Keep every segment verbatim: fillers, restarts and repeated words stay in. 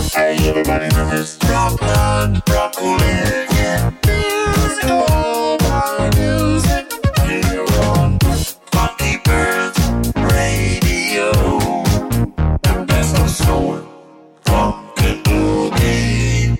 Hey, everybody know it's Dropland, Broccoli, yeah. Music, all my music, here on Funky Pearls Radio. The best of soul, funk and boogie.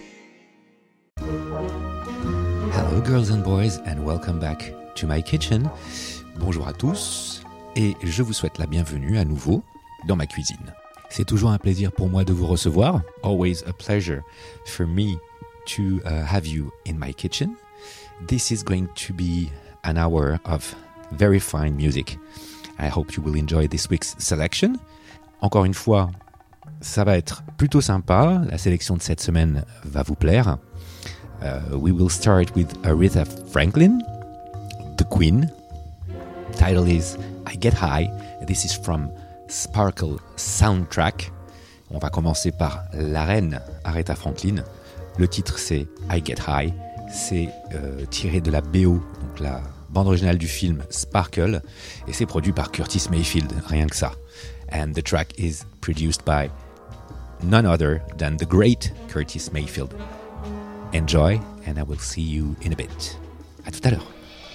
Hello girls and boys and welcome back to my kitchen. Bonjour à tous et je vous souhaite la bienvenue à nouveau dans ma cuisine. C'est toujours un plaisir pour moi de vous recevoir. Always a pleasure for me to uh, have you in my kitchen. This is going to be an hour of very fine music. I hope you will enjoy this week's selection. Encore une fois, ça va être plutôt sympa. La sélection de cette semaine va vous plaire. Uh, we will start with Aretha Franklin, the Queen. Title is I Get High. This is from Sparkle Soundtrack. On va commencer par la reine Aretha Franklin. Le titre c'est I Get High. C'est euh, tiré de la B O, donc la bande originale du film Sparkle, et c'est produit par Curtis Mayfield, rien que ça. And the track is produced by none other than the great Curtis Mayfield. Enjoy, and I will see you in a bit. À tout à l'heure.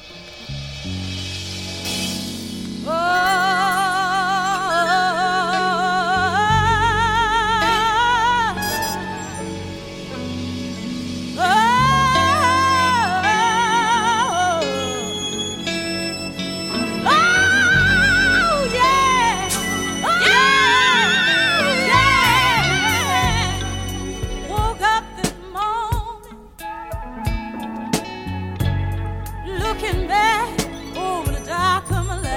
Looking back over the dark of my life.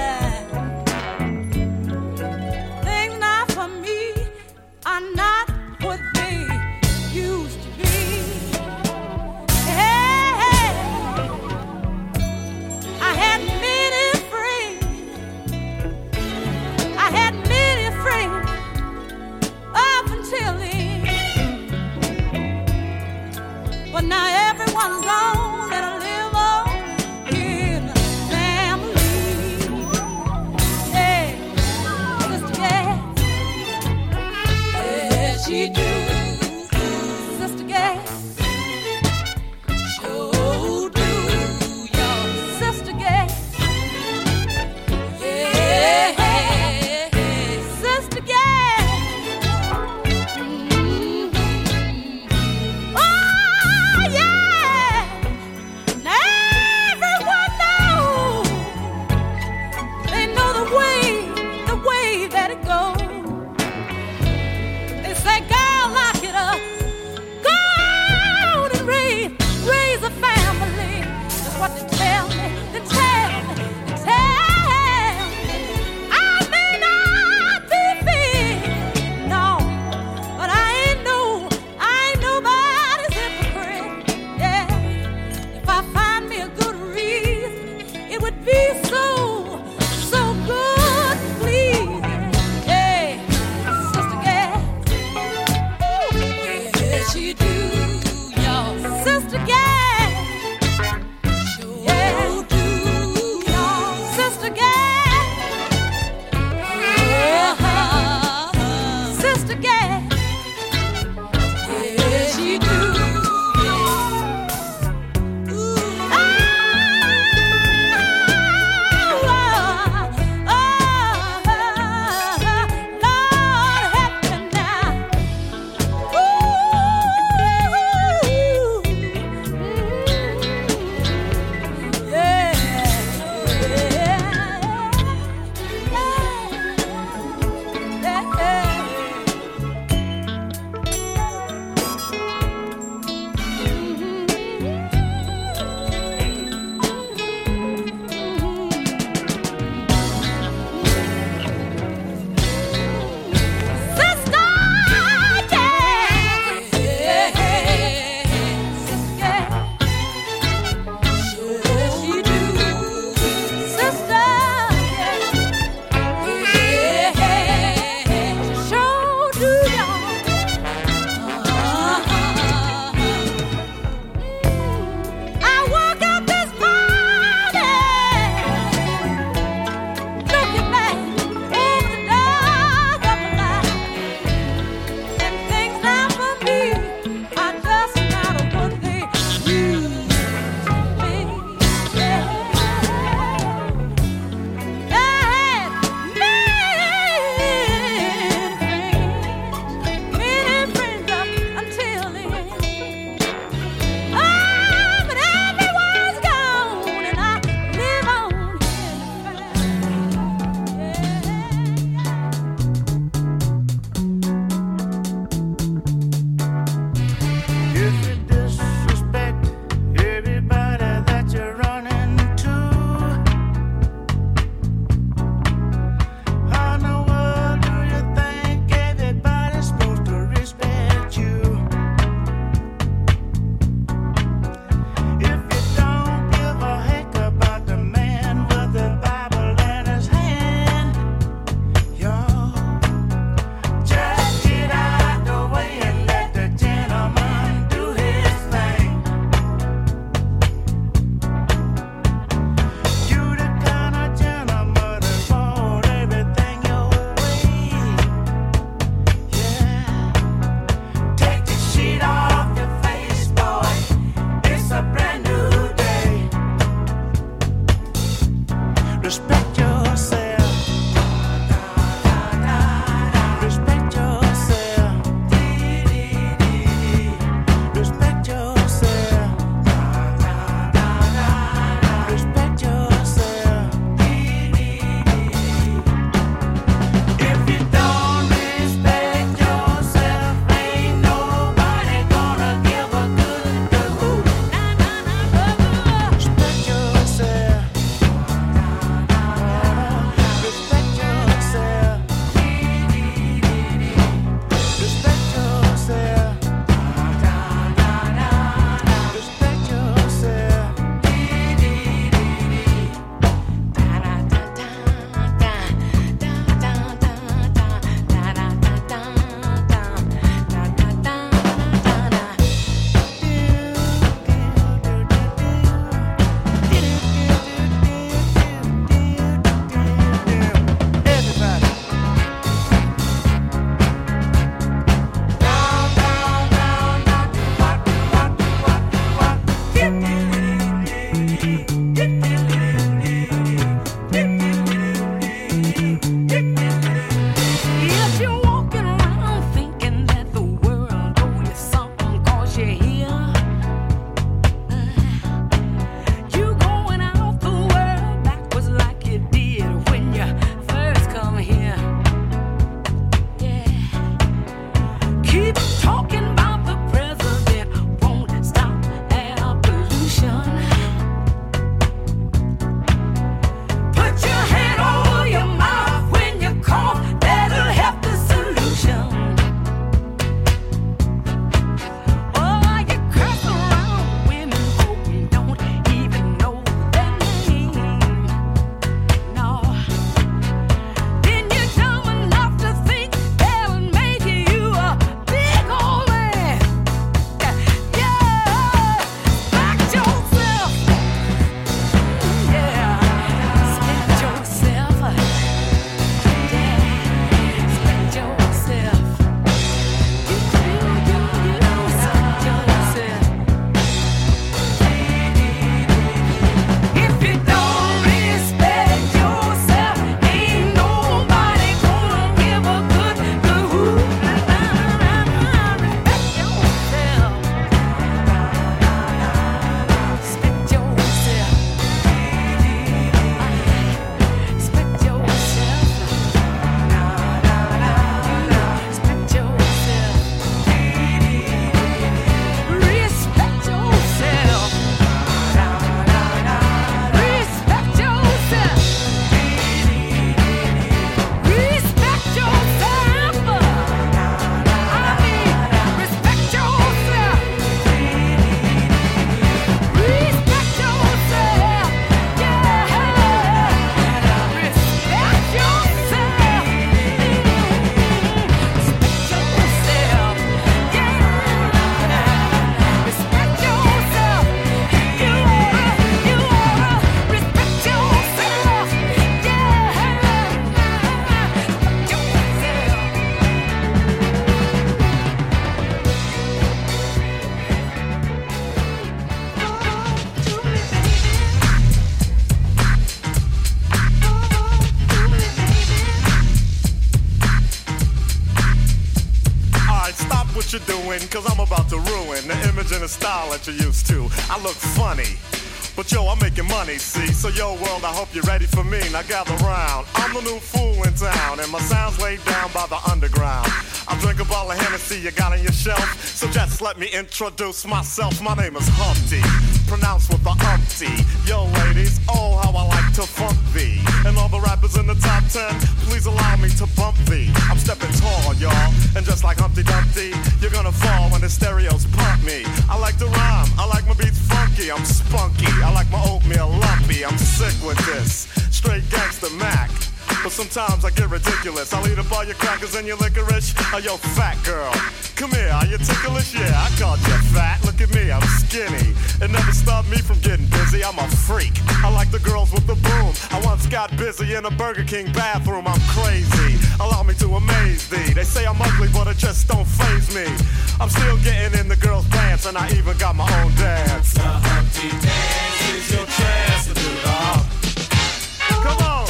what you're doing, cause I'm about to ruin the image and the style that you're used to. I look funny, but yo, I'm making money, see? So yo, world, I hope you're ready for me. Now gather round. I'm the new fool in town, and my sound's laid down by the underground. I drink a bottle of Hennessy you got on your shelf, so just let me introduce myself. My name is Humpty, pronounced with the umpty. Yo, ladies, oh, how I like to funk thee. And all the rappers in the top ten, please allow me to bump thee. I'm stepping tall, y'all, and just like Humpty Dumpty, you're gonna fall when the stereos pump me. I like to rhyme, I like my beats funky, I'm spunky. I like my oatmeal lumpy, I'm sick with this. Straight gangster Mac. But sometimes I get ridiculous. I'll eat up all your crackers and your licorice. Oh, yo, fat girl, come here, are you ticklish? Yeah, I called you fat. Look at me, I'm skinny. It never stopped me from getting busy. I'm a freak. I like the girls with the boom. I once got busy in a Burger King bathroom. I'm crazy. Allow me to amaze thee. They say I'm ugly, but it just don't faze me. I'm still getting in the girls' pants, and I even got my own dance. The Humpty Dance is your chance to do the hump. Come on.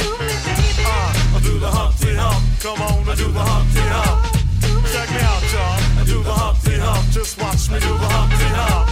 I do the Humpty Hump, come on, I do the Humpty Hump. Check me out, y'all, I do the Humpty Hump. Just watch me do the Humpty Hump.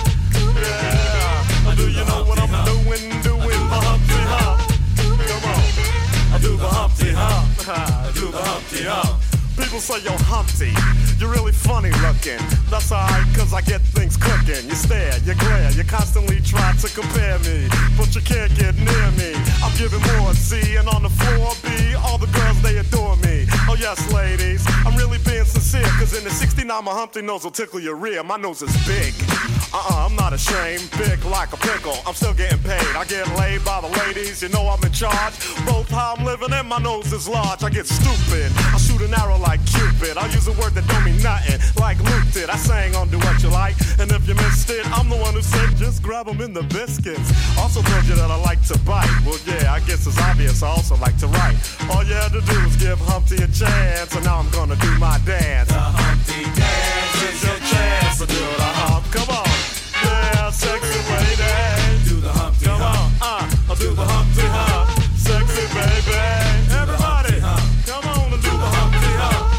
Yeah, do you know what I'm doing, doing the Humpty Hump? Come on, I do the Humpty Hump, I do the Humpty Hump. People say, yo, Humpty, you're really funny looking. That's alright, cause I get things cooking. You stare, you glare, you constantly try to compare me, but you can't get near me. I'm giving more C, and on the floor B, all the girls, they adore me. Oh yes, ladies, I'm really being sincere, cause in the sixty-nine, my Humpty nose will tickle your rear. My nose is big. Uh-uh, I'm not ashamed, big like a pickle. I'm still getting paid, I get laid by the ladies, you know I'm in charge. Both how I'm living and my nose is large. I get stupid, I shoot an arrow like Cupid. I use a word that don't mean nothing, like Luke did. I sang on Do What You Like, and if you missed it, I'm the one who said just grab them in the biscuits. Also told you that I like to bite. Well yeah, I guess it's obvious I also like to write. All you had to do was give Humpty a chance, and now I'm gonna do my dance. The Humpty Dance is your chance to do the hump. Come on, yeah, sexy lady. Do the Humpty Come on, Hump. uh, I'll do the Humpty Hump. Sexy baby, everybody, come on and do the Humpty Hump.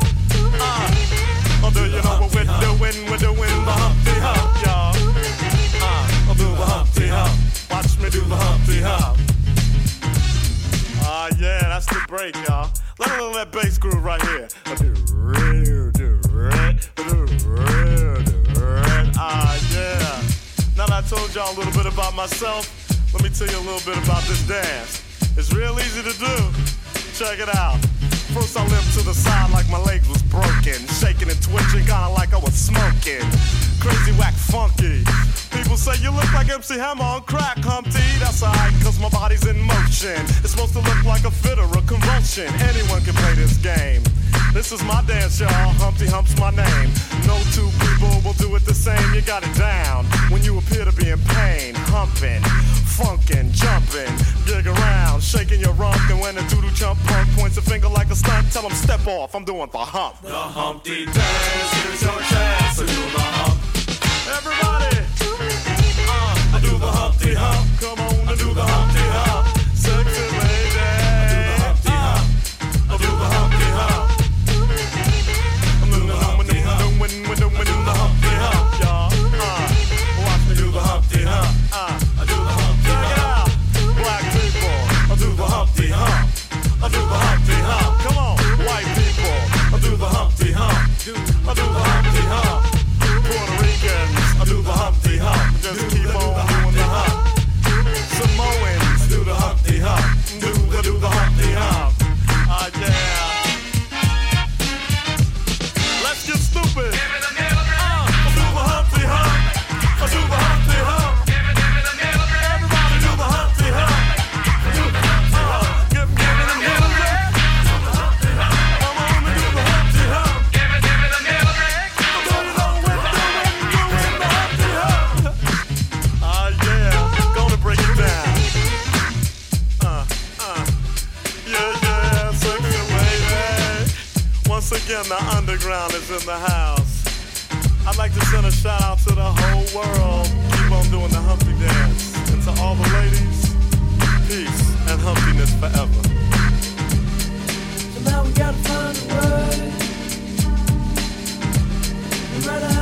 Uh, oh, do you know what we're doing? We're doing the Humpty Hump, y'all. Uh, I'll do the Humpty Hump. Watch me do the Humpty Hump. Ah, uh, yeah, that's the break, y'all. Let me that bass groove right here. I do real, do red, do real, do red. Ah, yeah. Now that I told y'all a little bit about myself, let me tell you a little bit about this dance. It's real easy to do. Check it out. First I limped to the side like my legs was broken, shaking and twitching, kinda like I was smoking. Crazy, whack, funky. People say you look like M C Hammer on crack, Humpty. That's alright, cause my body's in motion. It's supposed to look like a fit or a convulsion. Anyone can play this game. This is my dance, y'all. Humpty Hump's my name. No two people will do it the same. You got it down when you appear to be in pain. Humping, funkin', jumping, gig around, shaking your rump. And when a doodle chump punk points a finger like a stunt, tell him step off, I'm doing the hump. The Humpty Dance, here's your chance to do the hump. Everybody, uh, I do the Humpty Hump. Come on and do the Humpty Hump. Sexy lady, I do the Humpty Hump. I do the Humpty Hump. I'm doing the Humpty Hump. We're doing the Humpty Hump, y'all. Uh, watch me do the Humpty Hump. Uh, I do the Humpty Hump. Check it out, black people. I do the Humpty Hump. I do the Humpty Hump. Come on, white people. I do the Humpty Hump. I do the Humpty Hump. Puerto Ricans, I do the Humpty Hump. Just keep on doing the hump. Samoans, do the Humpty Hump. Do the do the Humpty Hump. Ah uh, yeah. Let's get stupid. Uh, I do the Humpty Hump. I do the Humpty Hump. Everybody do the Humpty Hump. Do the Humpty Hump. Give give me the middle leg. Come on and do the Humpty Hump. Give it, give it the middle leg. Do you know what doing, doing the Humpty Hump? Ah yeah, gonna break it down. Uh, uh, yeah, yeah, sexy lady. Once again, the underground is in the house. I'd like to send a shout out to the whole world. Keep on doing the Humpty Dance. And to all the ladies, peace and humpiness forever. So now we gotta find a word. No matter how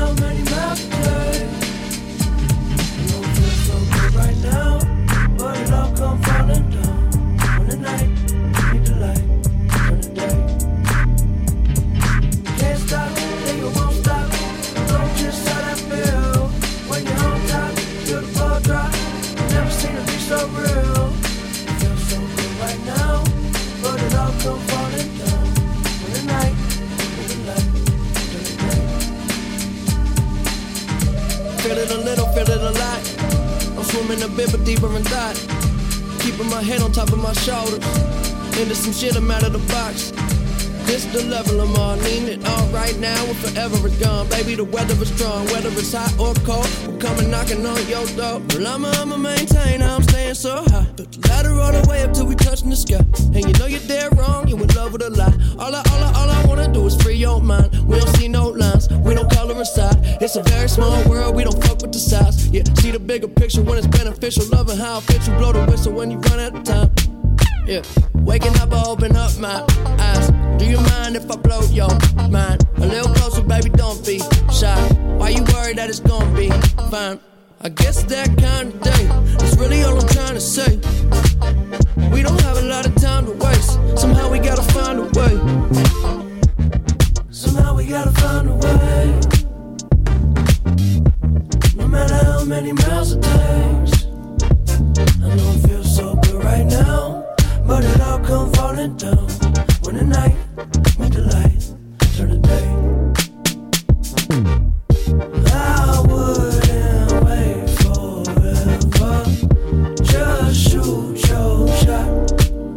Feel it a little, feel it a lot. I'm swimming a bit, but deeper in thought. Keeping my head on top of my shoulders. Into some shit, I'm out of the box. This the level I'm on, need it all right now or forever it's gone. Baby, the weather is strong, whether it's hot or cold. We're coming knocking on your door. Well, I'ma, I'ma maintain, I'm staying so high. But the ladder all the way up till we touching the sky. And you know you're dead wrong, you in love with a lie. All I, all I, all I wanna do is free your mind. We don't see no lines, we don't color inside. It's a very small world, we don't fuck with the size. Yeah, see the bigger picture when it's beneficial. Loving how it fits you, blow the whistle when you run out of time. Yeah, waking up, I open up my eyes. Do you mind if I blow your mind? A little closer, baby, don't be shy. Why you worried that it's gonna be fine? I guess that kind of day is really all I'm trying to say. We don't have a lot of time to waste. Somehow we gotta find a way. Somehow we gotta find a way. No matter how many miles it takes. I know it feels so good right now, but it all come falling down when the night meet the light, turn the day. I wouldn't wait forever, just shoot your shot.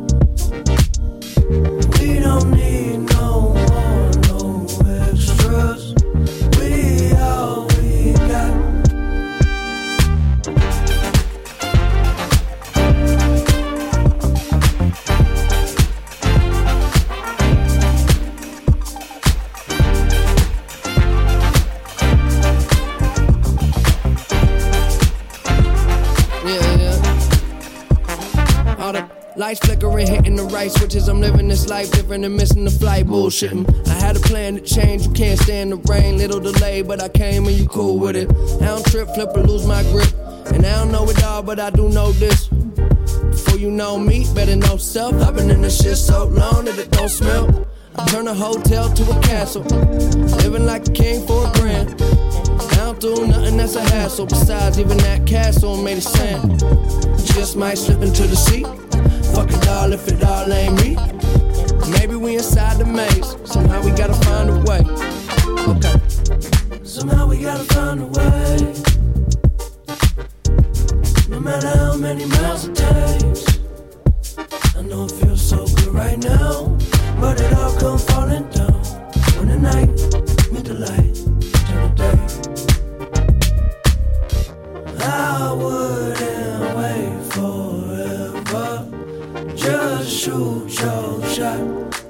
We don't need no more, no extras. We all we got. Lights flickering, hitting the right switches. I'm living this life different and missing the flight, bullshitting. I had a plan to change, you can't stand the rain. Little delay, but I came and you cool with it. I don't trip, flip, or lose my grip. And I don't know it all, but I do know this. Before you know me, better know self. I've been in this shit so long that it don't smell. I turn a hotel to a castle. Living like a king for a grand. I don't do nothing that's a hassle. Besides, even that castle made of sand. Just might slip into the sea. Fuck it all if it all ain't me. Maybe we inside the maze. Somehow we gotta find a way. Okay. Somehow we gotta find a way. No matter how many miles it takes. I know it feels so good right now, but it all come falling down when the night meet the light, turn the day. I wouldn't wait forever. Just shoot your shot.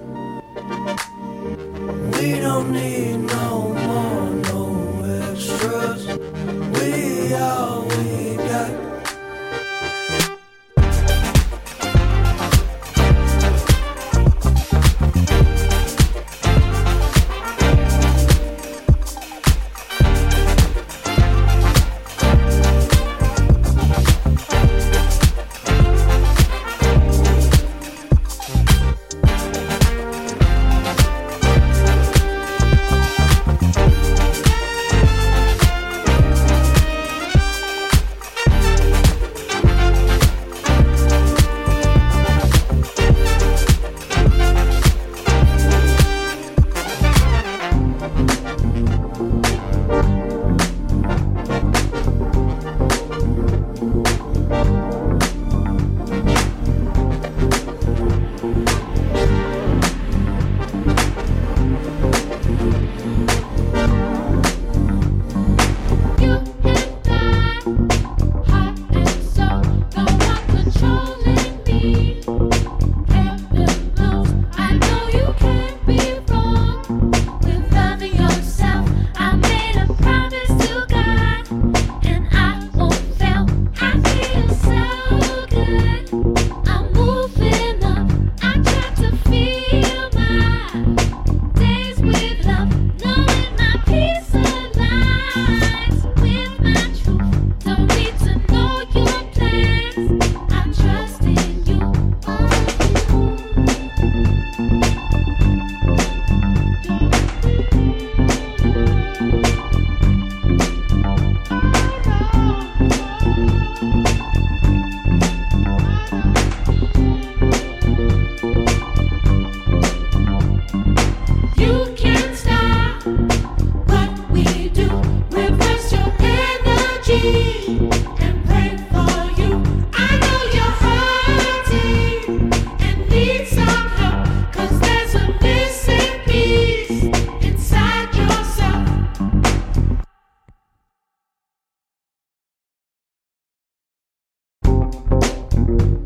We don't need no more, no extras. We all we got.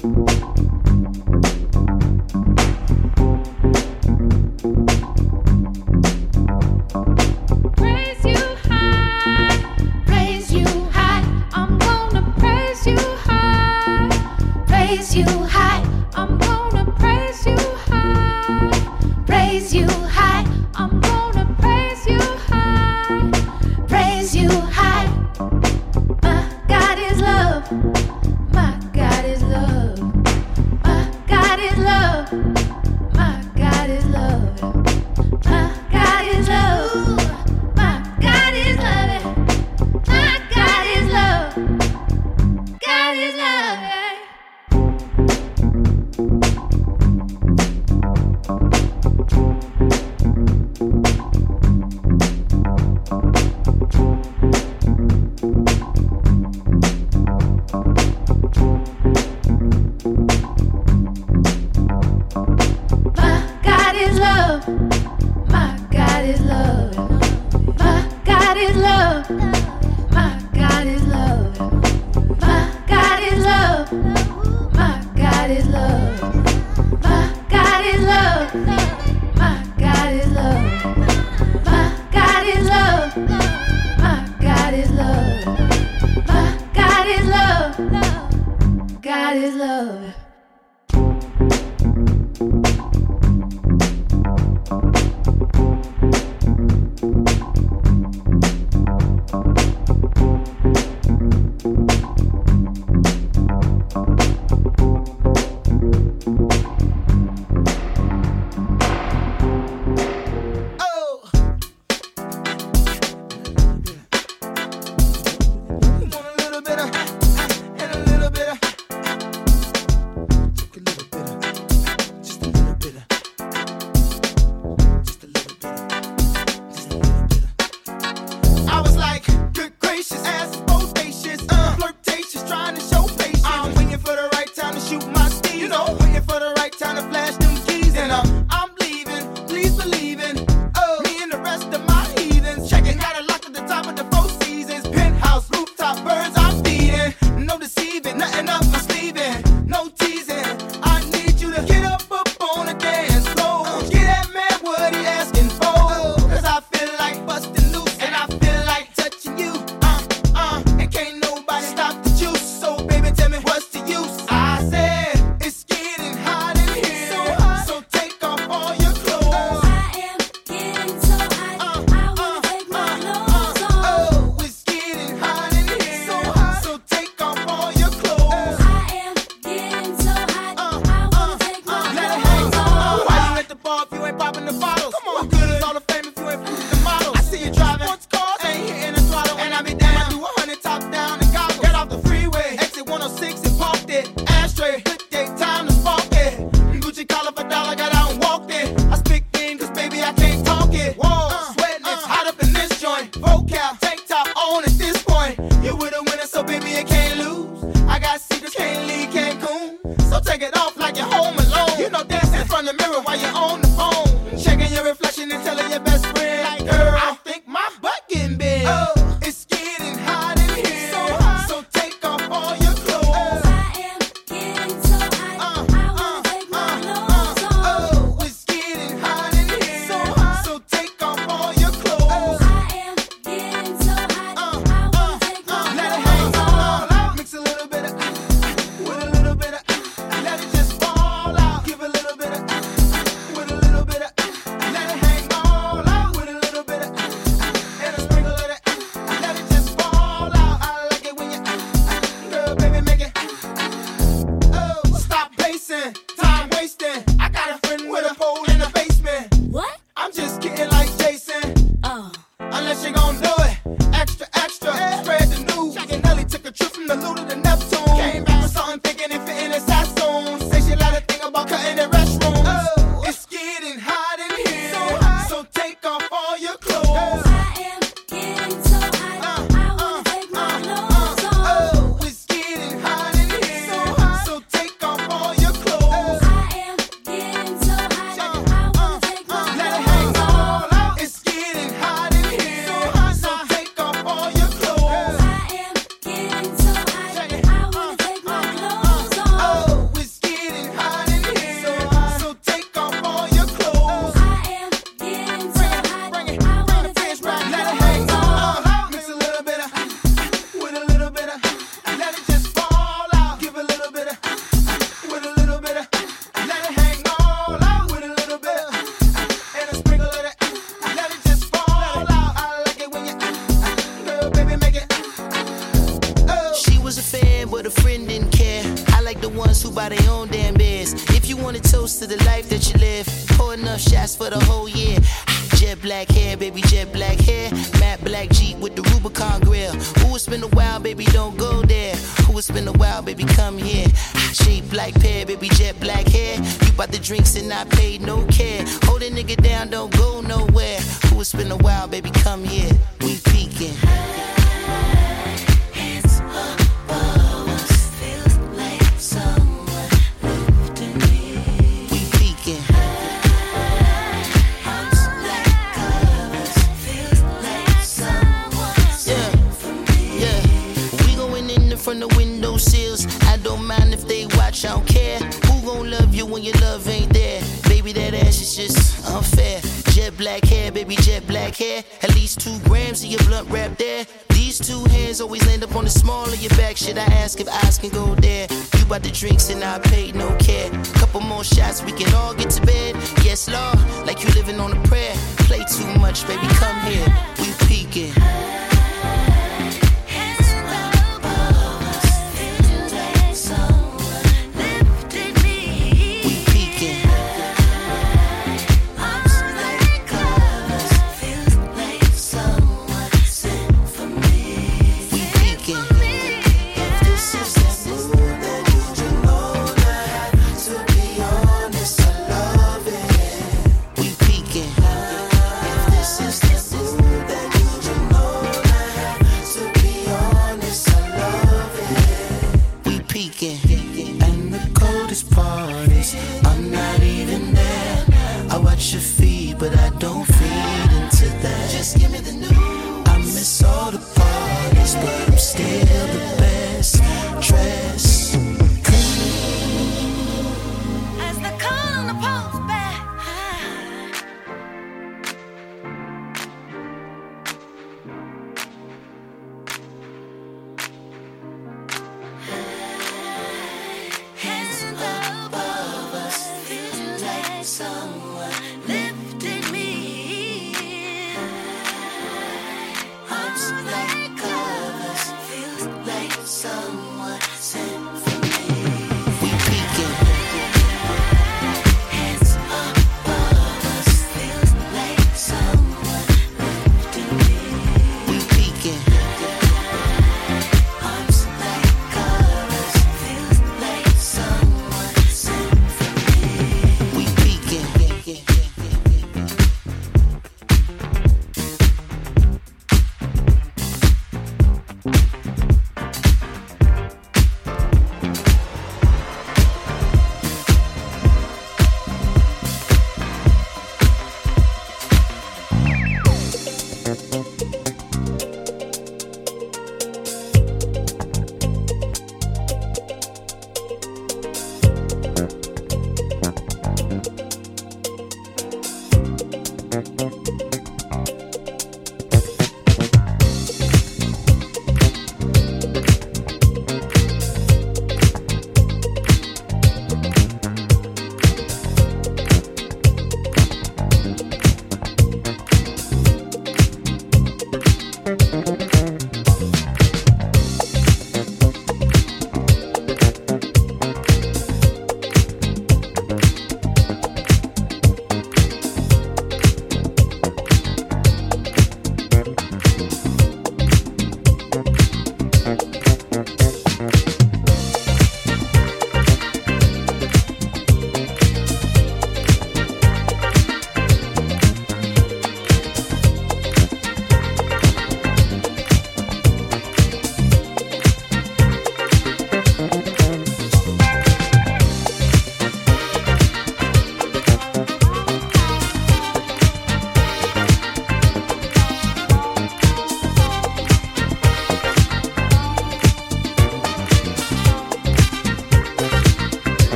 Praise you high, praise you high. I'm gonna praise you high, praise you high. I'm gonna praise you high, praise you high. I'm gonna praise you high, praise you high. My God is love, my God is love, my God is love, my God is love. My God is love. My God is love. My God is love. God is love. My God is love. My God is love. My God is love. My God is love. My God is love. My God is love. My God is love. My God is love. My God is love. My God is love. My God is love. God is love. Want a little bit of, and a little bit of. baby, make it. Oh. She was a fan, but a friend didn't care. I like the ones who buy their own damn beers. If you want a toast to the life that you live, pour enough shots for the whole year. Jet black hair, baby, jet black hair. Matte black Jeep with the Rubicon grill. Ooh, it's been a while, baby, don't go there. Ooh, it's been a while, baby, come here. Shape like pear, baby, jet black hair. You bought the drinks and I paid no care. Hold a nigga down, don't go nowhere. Ooh, it's been a while, baby, come here. We peeking. From the window sills, I don't mind if they watch, I don't care. Who gon' love you when your love ain't there? Baby, that ass is just unfair. Jet black hair, baby, jet black hair. At least two grams of your blunt wrap there. These two hands always land up on the small of your back. Should I ask if eyes can go there? You bought the drinks and I paid no care. Couple more shots, we can all get to bed. Yes, Lord, like you living on a prayer. Play too much, baby, come here. We peeking. If this is the mood that you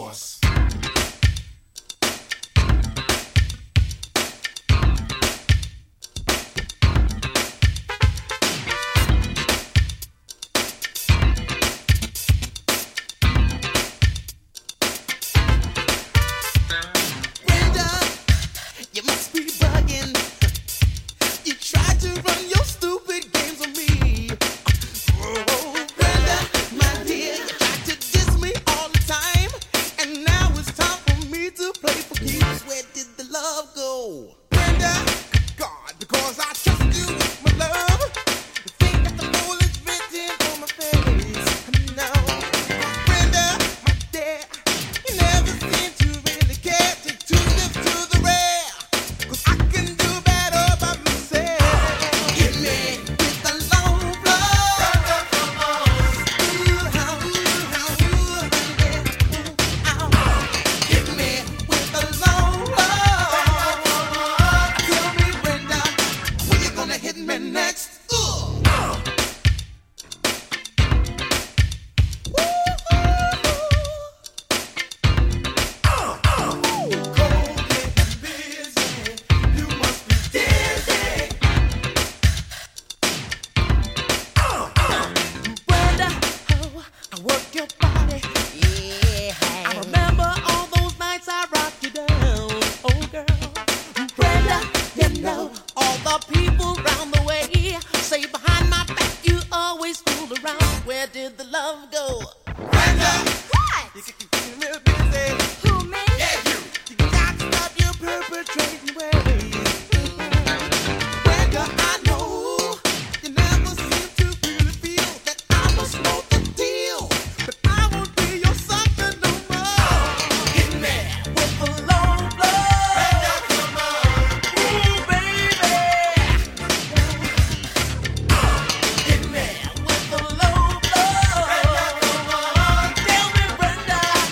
course. Tell me, Brenda.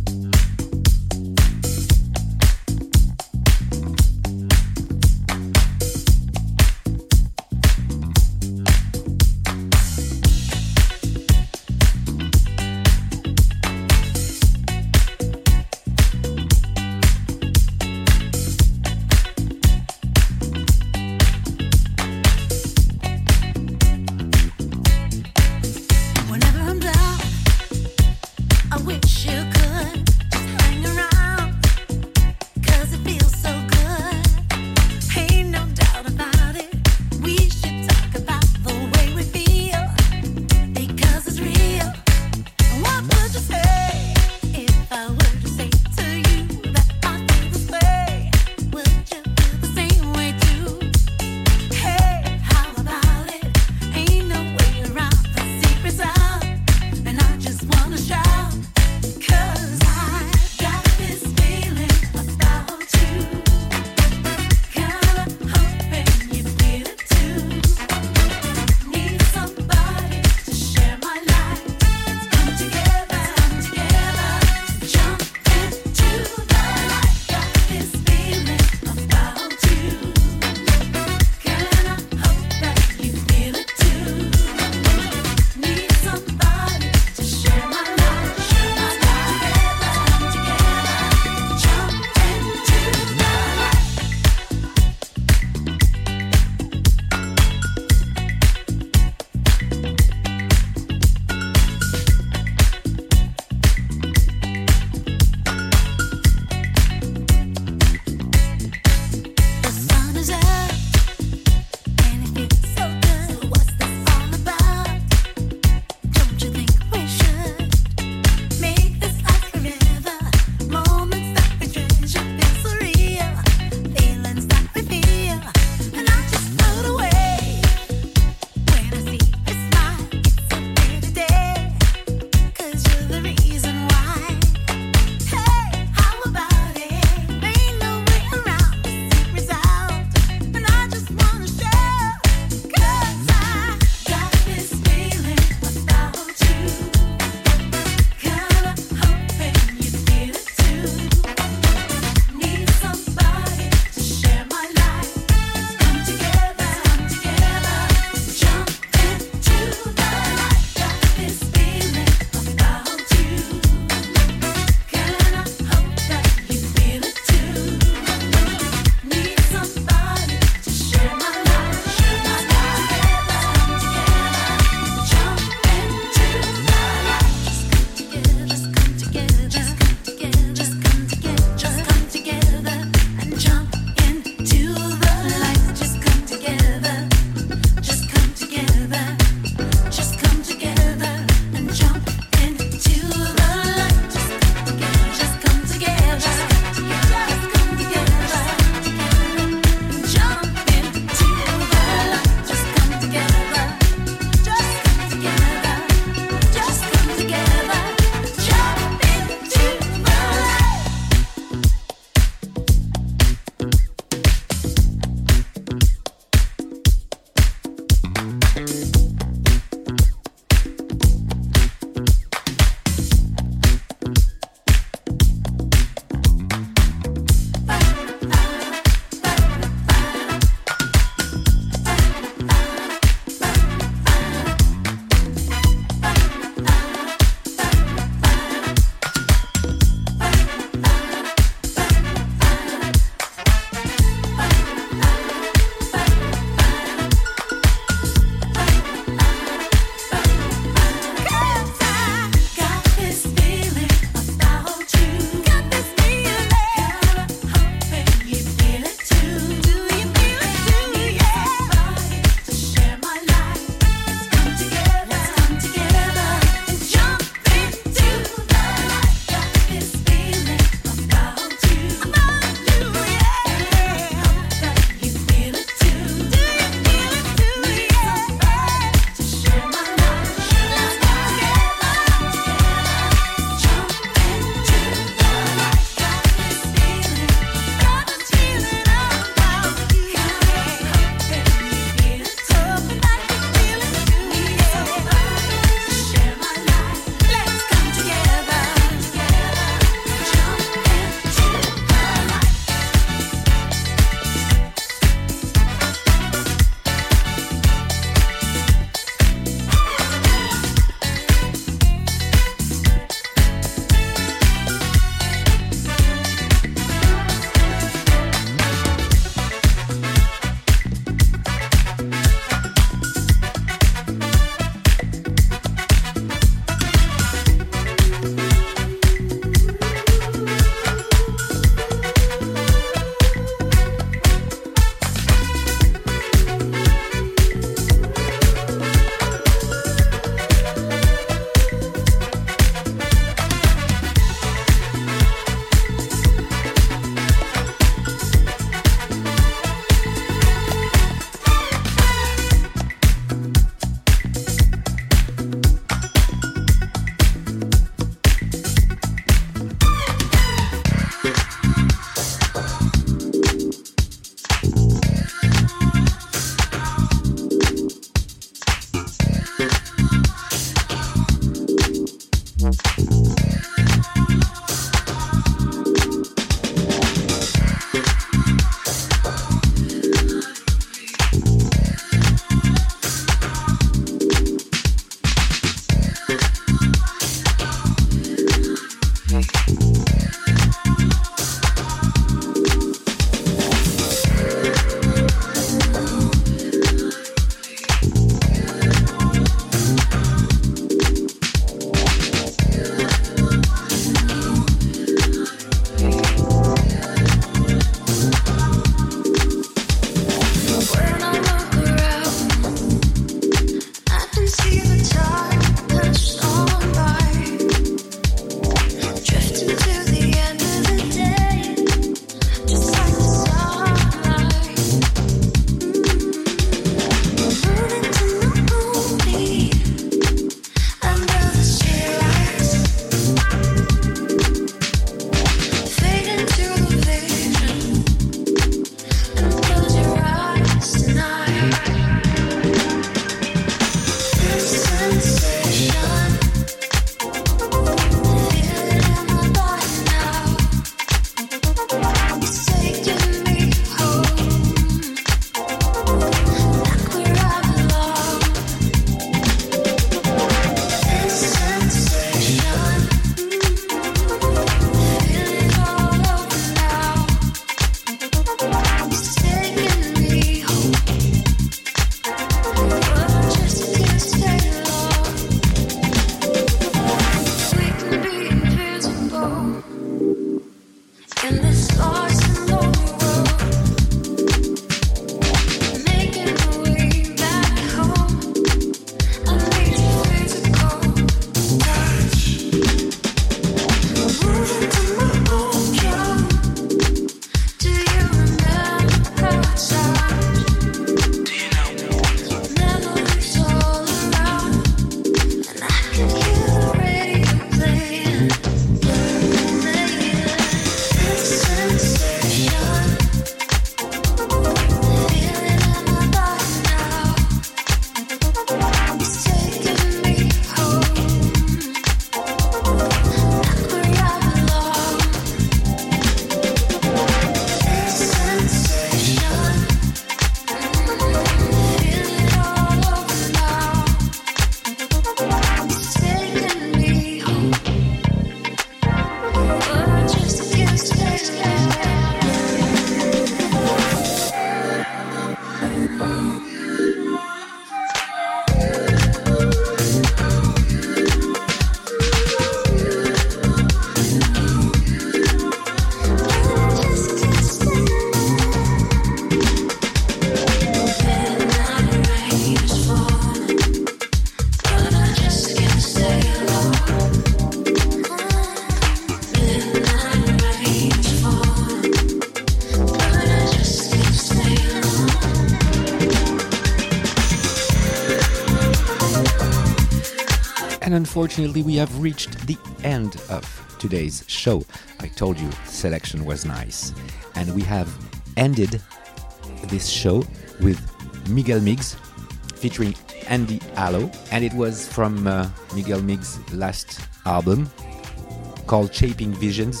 And unfortunately, we have reached the end of today's show. I told you selection was nice. And we have ended this show with Miguel Miggs featuring Andy Allo. And it was from uh, Miguel Miggs' last album called Shaping Visions.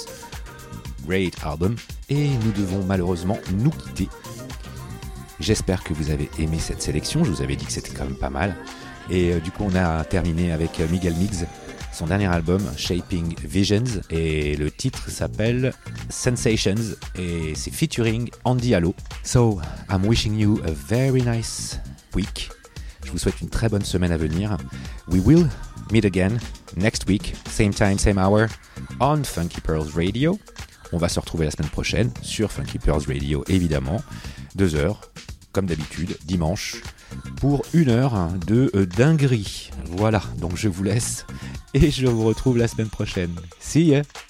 Great album. Et nous devons malheureusement nous quitter. J'espère que vous avez aimé cette sélection. Je vous avais dit que c'était quand même pas mal. Et euh, du coup, on a terminé avec Miguel Miggs, son dernier album, Shaping Visions. Et le titre s'appelle Sensations. Et c'est featuring Andy Allo. So, I'm wishing you a very nice week. Je vous souhaite une très bonne semaine à venir. We will meet again next week, same time, same hour, on Funky Pearls Radio. On va se retrouver la semaine prochaine sur Funky Pearls Radio, évidemment. Deux heures, comme d'habitude, dimanche, pour une heure de euh, dinguerie. Voilà, donc je vous laisse et je vous retrouve la semaine prochaine. See ya!